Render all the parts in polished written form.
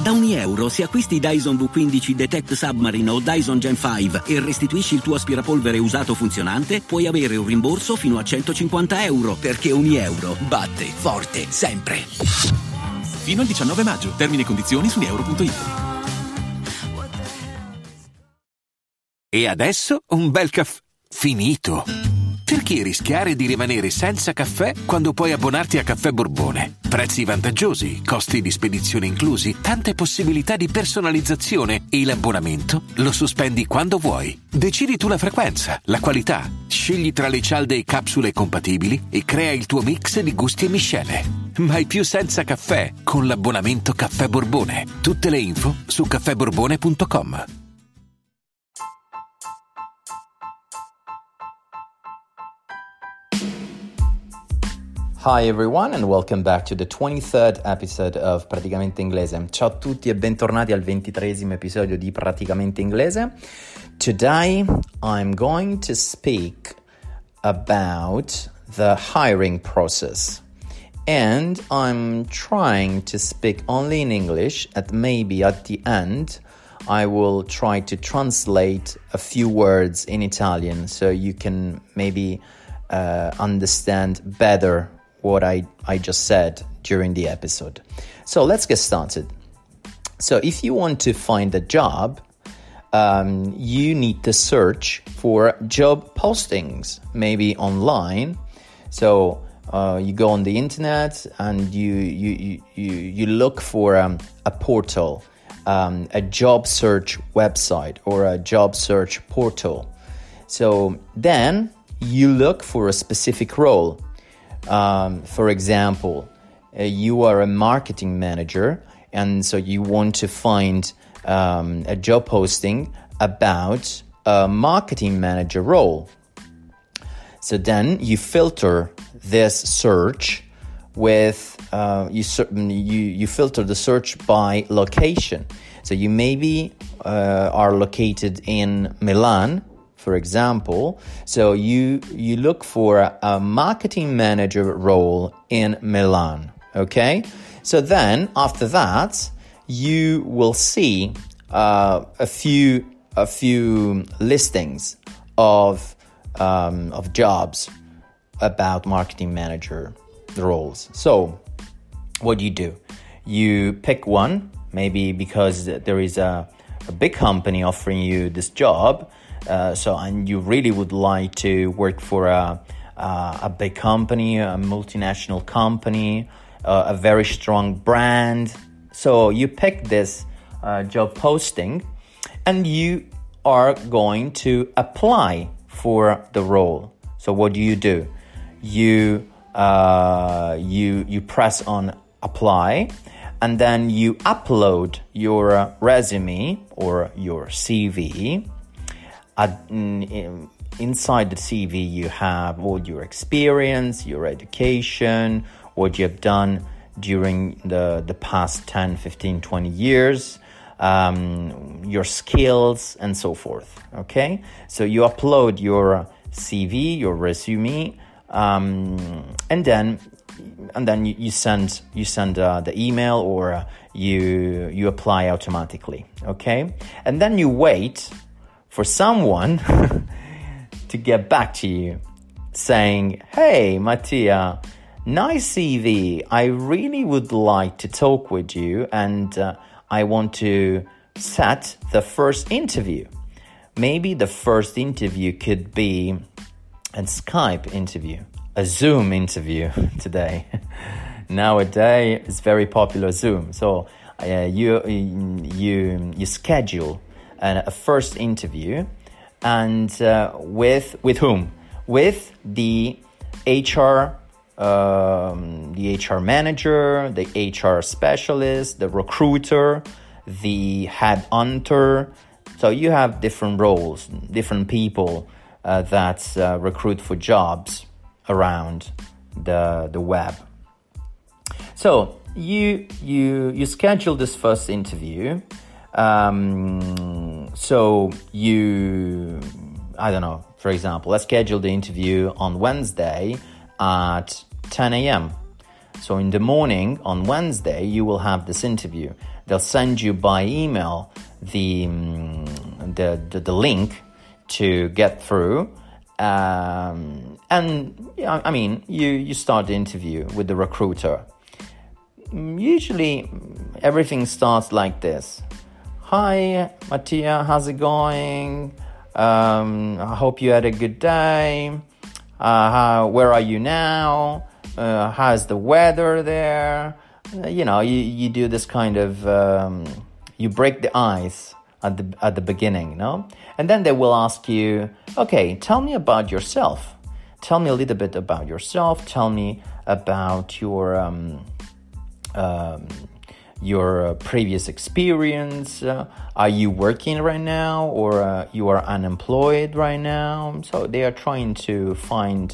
Da €1 se acquisti Dyson V15 Detect Submarine o Dyson Gen 5 e restituisci il tuo aspirapolvere usato funzionante, puoi avere un rimborso fino a €150, perché €1 batte forte sempre. Fino al 19 maggio. Termini e condizioni su euro.it. E adesso un bel caffè finito. Perché rischiare di rimanere senza caffè quando puoi abbonarti a Caffè Borbone? Prezzi vantaggiosi, costi di spedizione inclusi, tante possibilità di personalizzazione e l'abbonamento lo sospendi quando vuoi. Decidi tu la frequenza, la qualità, scegli tra le cialde e capsule compatibili e crea il tuo mix di gusti e miscele. Mai più senza caffè con l'abbonamento Caffè Borbone. Tutte le info su caffèborbone.com. Hi everyone and welcome back to the 23rd episode of Praticamente Inglese. Ciao a tutti e bentornati al 23esimo episodio di Praticamente Inglese. Today I'm going to speak about the hiring process. And I'm trying to speak only in English, and maybe at the end I will try to translate a few words in Italian so you can maybe understand better what I just said during the episode. So let's get started. So if you want to find a job, you need to search for job postings, maybe online. So you go on the internet and you look for a portal, a job search website or a job search portal. So then you look for a specific role. For example, you are a marketing manager, and so you want to find a job posting about a marketing manager role. So then you filter this search with you filter the search by location. So you maybe are located in Milan, for example, so you look for a marketing manager role in Milan, okay? So then, after that, you will see a few listings of jobs about marketing manager roles. So, what do? You pick one, maybe because there is a big company offering you this job. And you really would like to work for a big company, a multinational company, a very strong brand. So you pick this job posting and you are going to apply for the role. So what do? You press on apply, and then you upload your resume or your CV. Inside the CV, you have all your experience, your education, what you have done during the past 10, 15, 20 years, your skills, and so forth, okay? So you upload your CV, your resume, and then you send the email, or you apply automatically, okay? And then you wait for someone to get back to you saying, "Hey, Mattia, nice CV. I really would like to talk with you, and I want to set the first interview." Maybe the first interview could be a Skype interview, a Zoom interview today. Nowadays, it's very popular, Zoom. So you schedule a first interview, and with whom? With the HR manager, the HR specialist, the recruiter, the headhunter. So you have different roles, different people that recruit for jobs around the web. So you schedule this first interview. So I don't know, for example, let's schedule the interview on Wednesday at 10 a.m. So in the morning on Wednesday, you will have this interview. They'll send you by email the link to get through. And I mean, you start the interview with the recruiter. Usually everything starts like this. Hi, Mattia, how's it going? I hope you had a good day. Where are you now? How's the weather there? You do this kind of, you break the ice at the beginning, no? And then they will ask you, okay, tell me about yourself. Tell me a little bit about yourself. Tell me about your previous experience. Are you working right now, or you are unemployed right now? So they are trying to find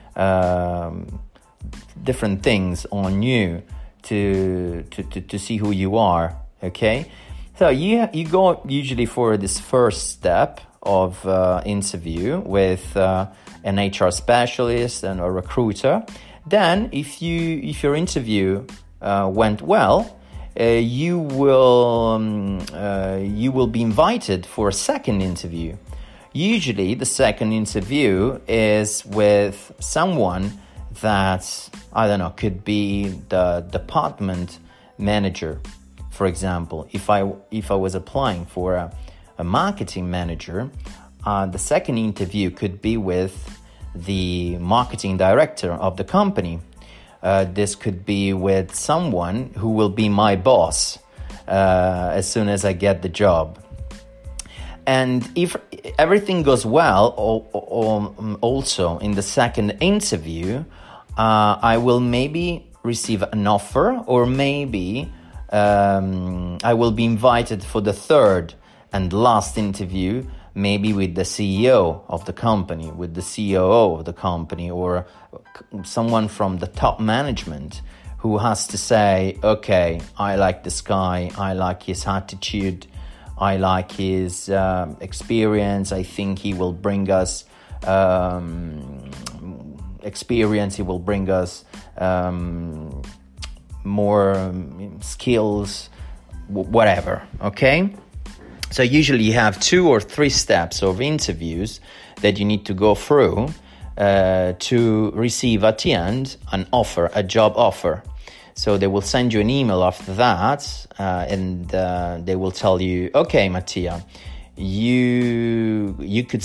different things on you to see who you are. Okay, so you go usually for this first step of interview with an HR specialist and a recruiter. Then if your interview went well, you will be invited for a second interview. Usually the second interview is with someone that, I don't know, could be the department manager. For example, if I was applying for a marketing manager, the second interview could be with the marketing director of the company. This could be with someone who will be my boss as soon as I get the job. And if everything goes well, also in the second interview, I will maybe receive an offer, or maybe I will be invited for the third and last interview, maybe with the CEO of the company, with the COO of the company, or someone from the top management who has to say, okay, I like this guy, I like his attitude, I like his experience, I think he will bring us experience, he will bring us more skills, whatever, okay? So usually you have 2 or 3 steps of interviews that you need to go through to receive at the end an offer, a job offer. So they will send you an email after that, and they will tell you, okay, Mattia, you could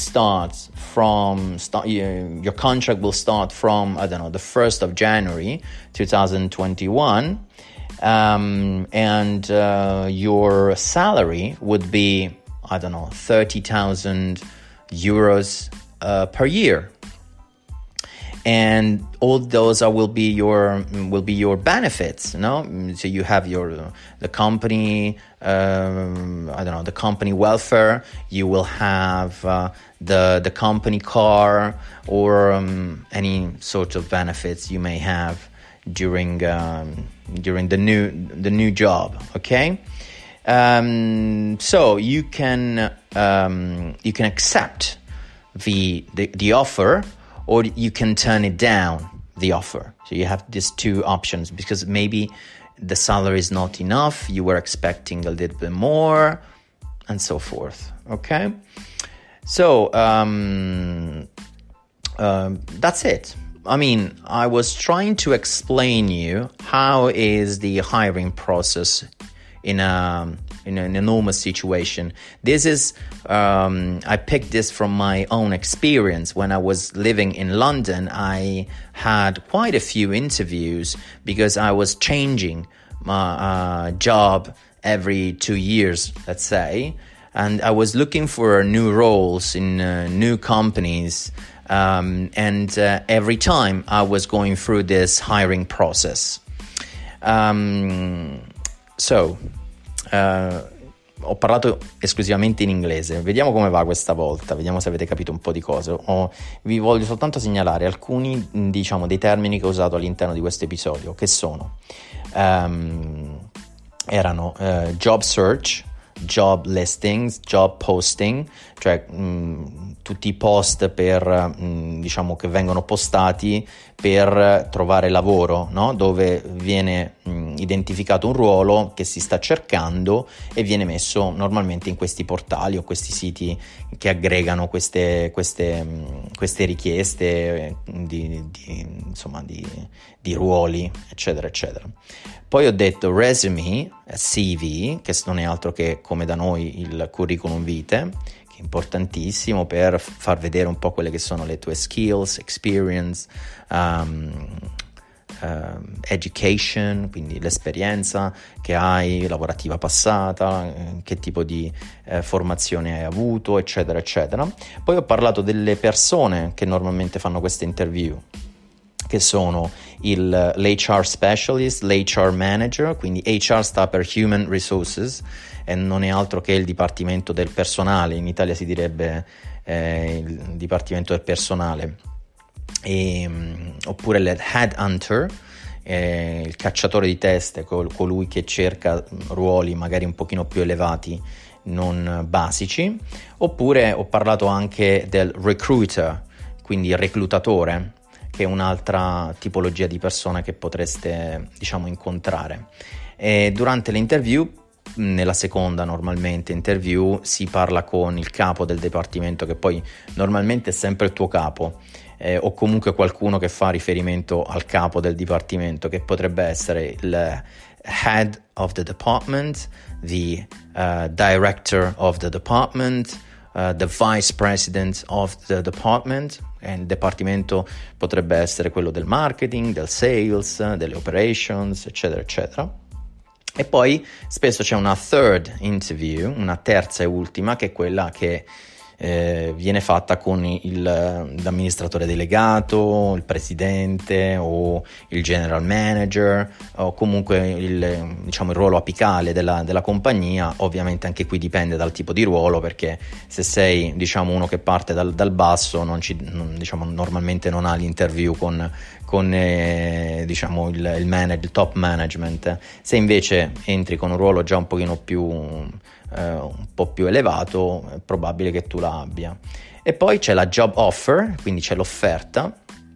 your contract will start from, I don't know, the 1st of January 2021. And your salary would be, I don't know, 30,000 euros per year, and all those will be your benefits. So you have the company, the company welfare. You will have the company car, or any sort of benefits you may have during the new job. Okay, so you can accept the offer, or you can turn it down, the offer. So you have these 2 options, because maybe the salary is not enough, you were expecting a little bit more, and so forth. Okay, so that's it. I mean, I was trying to explain you how is the hiring process in an enormous situation. This is, I picked this from my own experience. When I was living in London, I had quite a few interviews because I was changing my job every 2 years, let's say. And I was looking for new roles in new companies. And every time I was going through this hiring process. Ho parlato esclusivamente in inglese, vediamo come va questa volta, vediamo se avete capito un po' di cose. Vi voglio soltanto segnalare alcuni, dei termini che ho usato all'interno di questo episodio, che sono erano job search, job listings, job posting, cioè tu tutti i post per diciamo che vengono postati per trovare lavoro, no? Dove viene identificato un ruolo che si sta cercando e viene messo normalmente in questi portali o questi siti che aggregano queste richieste di ruoli, eccetera eccetera. Poi ho detto resume, CV, che non è altro che come da noi il curriculum vitae, che è importantissimo per far vedere un po' quelle che sono le tue skills, experience, education, quindi l'esperienza che hai, lavorativa passata, che tipo di formazione hai avuto, eccetera eccetera. Poi ho parlato delle persone che normalmente fanno queste interview, che sono l'HR specialist, l'HR manager, quindi HR sta per Human Resources e non è altro che il dipartimento del personale, in Italia si direbbe il dipartimento del personale, oppure l'headhunter, il cacciatore di teste, colui che cerca ruoli magari un pochino più elevati, non basici. Oppure ho parlato anche del recruiter, quindi il reclutatore, che è un'altra tipologia di persona che potreste, diciamo, incontrare. E durante l'interview, nella seconda normalmente interview, si parla con il capo del dipartimento, che poi normalmente è sempre il tuo capo, o comunque qualcuno che fa riferimento al capo del dipartimento, che potrebbe essere il head of the department, the director of the department, the vice president of the department. E il dipartimento potrebbe essere quello del marketing, del sales, delle operations, eccetera eccetera. E poi spesso c'è una third interview, una terza e ultima, che è quella che viene fatta con l'amministratore delegato, il presidente o il general manager, o comunque il ruolo apicale della compagnia. Ovviamente anche qui dipende dal tipo di ruolo, perché se sei, diciamo, uno che parte dal basso, normalmente non ha l'interview con il top management. Se invece entri con un ruolo già un pochino più un po' più elevato, è probabile che tu la abbia. E poi c'è la job offer, quindi c'è l'offerta,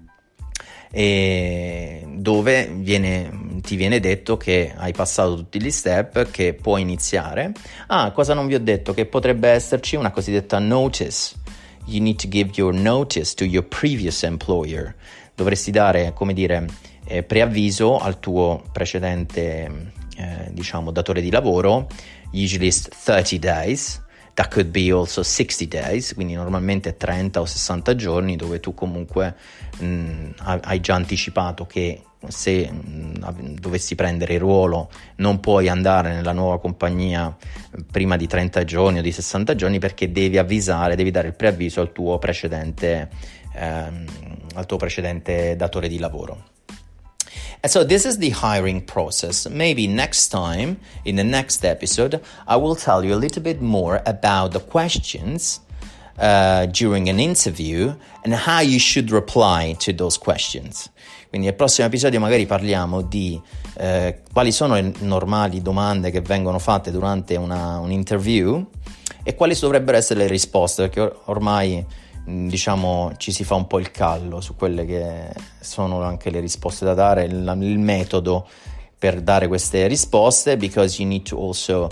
dove ti viene detto che hai passato tutti gli step, che puoi iniziare. Cosa non vi ho detto? Che potrebbe esserci una cosiddetta notice. You need to give your notice to your previous employer. Dovresti dare, preavviso al tuo precedente datore di lavoro. Usually it's 30 days, that could be also 60 days, quindi normalmente 30 o 60 giorni, dove tu comunque hai già anticipato che se dovessi prendere il ruolo non puoi andare nella nuova compagnia prima di 30 giorni o di 60 giorni, perché devi dare il preavviso al tuo precedente datore di lavoro. And so this is the hiring process. Maybe next time, in the next episode, I will tell you a little bit more about the questions during an interview and how you should reply to those questions. Quindi nel prossimo episodio magari parliamo di quali sono le normali domande che vengono fatte durante un interview e quali dovrebbero essere le risposte, perché ormai ci si fa un po' il callo su quelle che sono anche le risposte da dare, il metodo per dare queste risposte, because you need to also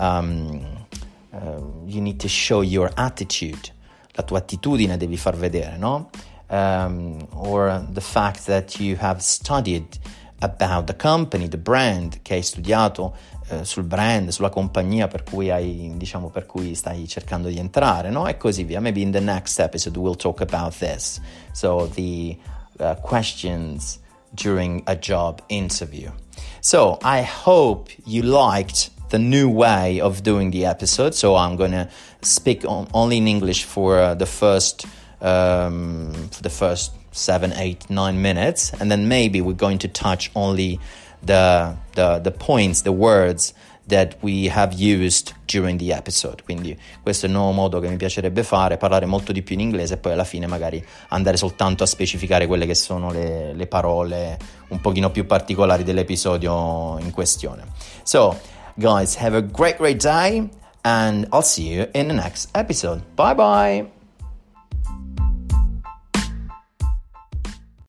you need to show your attitude, la tua attitudine devi far vedere, no? Or the fact that you have studied about the company, the brand, che hai studiato sul brand, sulla compagnia per cui stai cercando di entrare, no? E così via. Maybe in the next episode we'll talk about this. So the questions during a job interview. So I hope you liked the new way of doing the episode. So I'm gonna speak only in English for the first 7, 8, 9 minutes, and then maybe we're going to touch only the points, the words that we have used during the episode. Quindi questo è il nuovo modo che mi piacerebbe fare, parlare molto di più in inglese e poi alla fine magari andare soltanto a specificare quelle che sono le parole un pochino più particolari dell'episodio in questione. So guys, have a great day and I'll see you in the next episode. Bye bye.